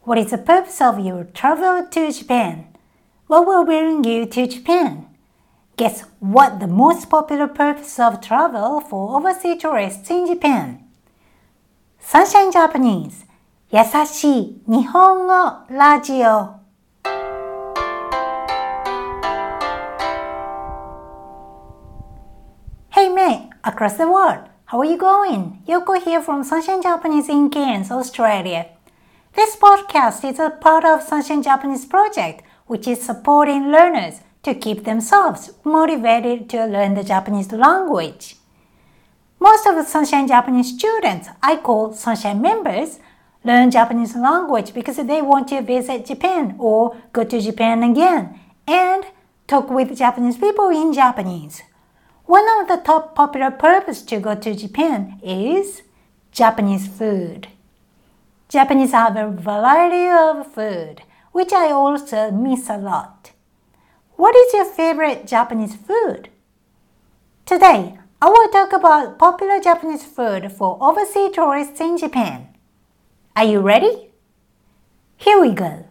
What is the purpose of your travel to Japan? What will bring you to Japan? Guess what the most popular purpose of travel for overseas tourists in Japan? Sunshine Japanese 優しい日本語ラジオ。Hey mate, across the world, how are you going? Yoko here from Sunshine Japanese in Cairns, Australia. This podcast is a part of Sunshine Japanese project, which is supporting learners to keep themselves motivated to learn the Japanese language. Most of the Sunshine Japanese students I call Sunshine members learn Japanese language because they want to visit Japan or go to Japan again and talk with Japanese people in Japanese. One of the top popular purposes to go to Japan is Japanese food. Japanese have a variety of food, which I also miss a lot. What is your favorite Japanese food? Today, I will talk about popular Japanese food for overseas tourists in Japan. Are you ready? Here we go.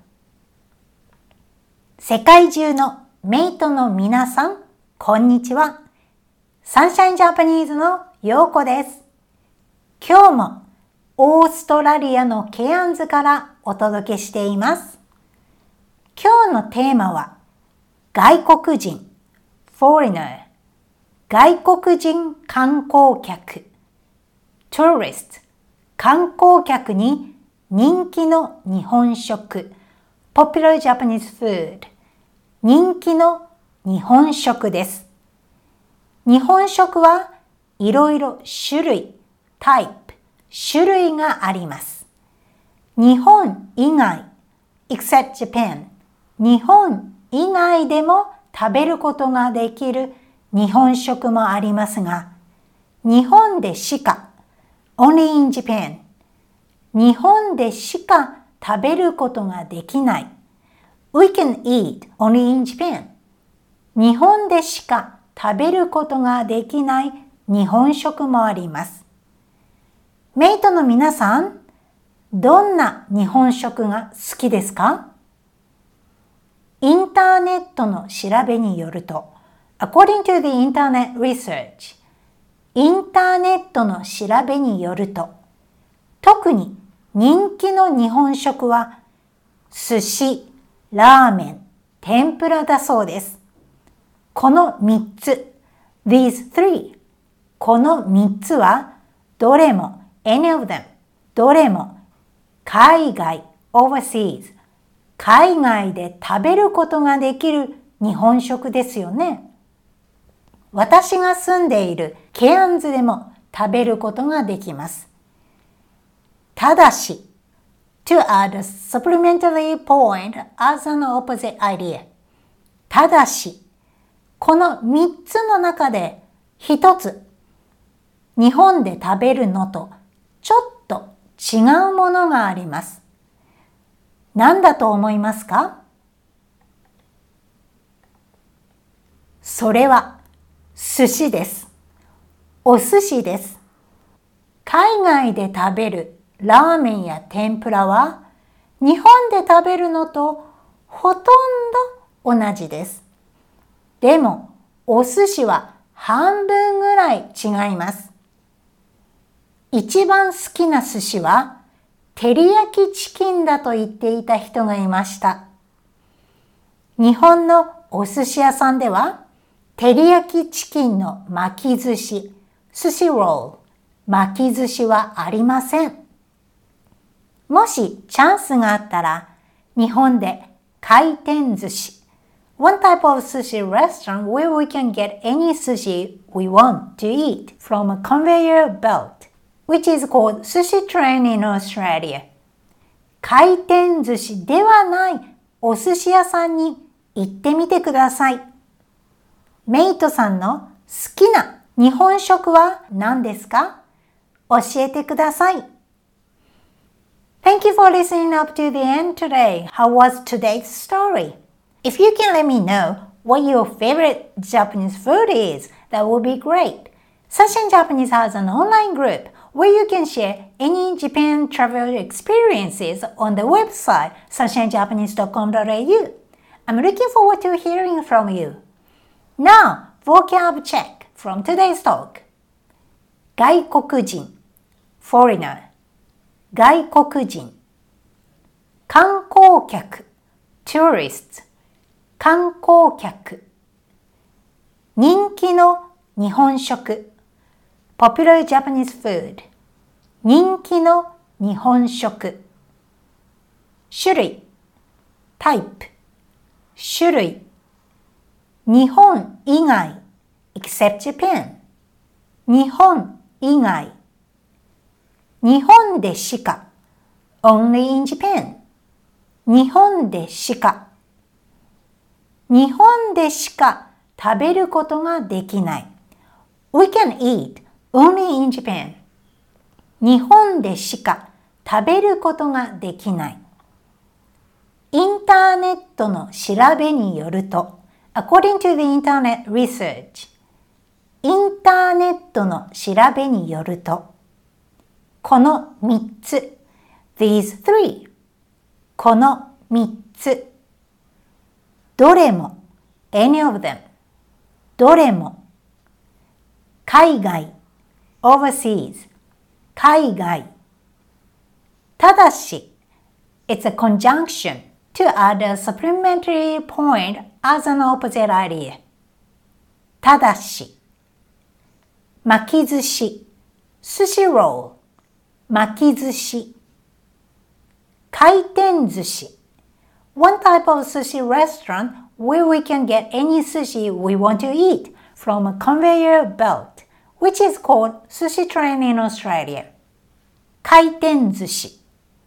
世界中のメイトの皆さん、こんにちは。サンシャインジャパニーズのヨーコです。今日もオーストラリアのケアンズからお届けしています。今日のテーマは外国人 foreigner 外国人観光客 tourist 観光客に人気の日本食 popular Japanese food 人気の日本食です。日本食はいろいろ種類 type 種類があります。日本以外 except Japan 日本以外でも食べることができる日本食もありますが、日本でしか only in Japan 日本でしか食べることができない we can eat only in Japan 日本でしか食べることができない日本食もあります。メイトの皆さん、どんな日本食が好きですか？インターネットの調べによると、according to the internet research、インターネットの調べによると、特に人気の日本食は、寿司、ラーメン、天ぷらだそうです。この3つ、these three、この3つは、どれも、any of them、どれも、海外、overseas、海外で食べることができる日本食ですよね。私が住んでいるケアンズでも食べることができます。ただし、to add a supplementary point as an opposite idea。ただし、この3つの中で1つ、日本で食べるのとちょっと違うものがあります。何だと思いますか？それは寿司です。お寿司です。海外で食べるラーメンや天ぷらは日本で食べるのとほとんど同じです。でもお寿司は半分ぐらい違います。一番好きな寿司は照り焼きチキンだと言っていた人がいました。日本のお寿司屋さんでは、照り焼きチキンの巻き寿司、寿司ロール、巻き寿司はありません。もしチャンスがあったら、日本で回転寿司、one type of sushi restaurant where we can get any sushi we want to eat from a conveyor belt.which is called sushi train in Australia. 回転寿司ではないお寿司屋さんに行ってみてください。メイトさんの好きな日本食は何ですか？教えてください。Thank you for listening up to the end today. How was today's story? If you can let me know what your favorite Japanese food is, that would be great. Sunshine Japanese has an online group where you can share any Japan travel experiences on the website sunshinejapanese.com.au. I'm looking forward to hearing from you. Now, vocab check from today's talk. 外国人 foreigner 外国人観光客 tourist 観光客人気の日本食 popular Japanese food 人気の日本食種類 type 種類日本以外 except Japan 日本以外日本でしか only in Japan 日本でしか日本でしか食べることができない We can eat only in Japan 日本でしか食べることができないインターネットの調べによると According to the internet research インターネットの調べによるとこの3つ These three この3つどれも any of them どれも海外 overseas 海外ただし It's a conjunction to add a supplementary point as an opposite idea ただし巻き寿司 sushi roll 巻き寿司回転寿司 One type of sushi restaurant where we can get any sushi we want to eat from a conveyor belt, which is called sushi train in Australia. 回転寿司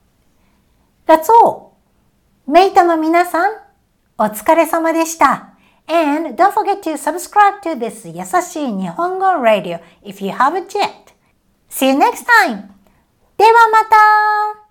That's all. メイトの皆さん、お疲れ様でした。And don't forget to subscribe to this 優しい日本語 radio if you haven't yet. See you next time. ではまた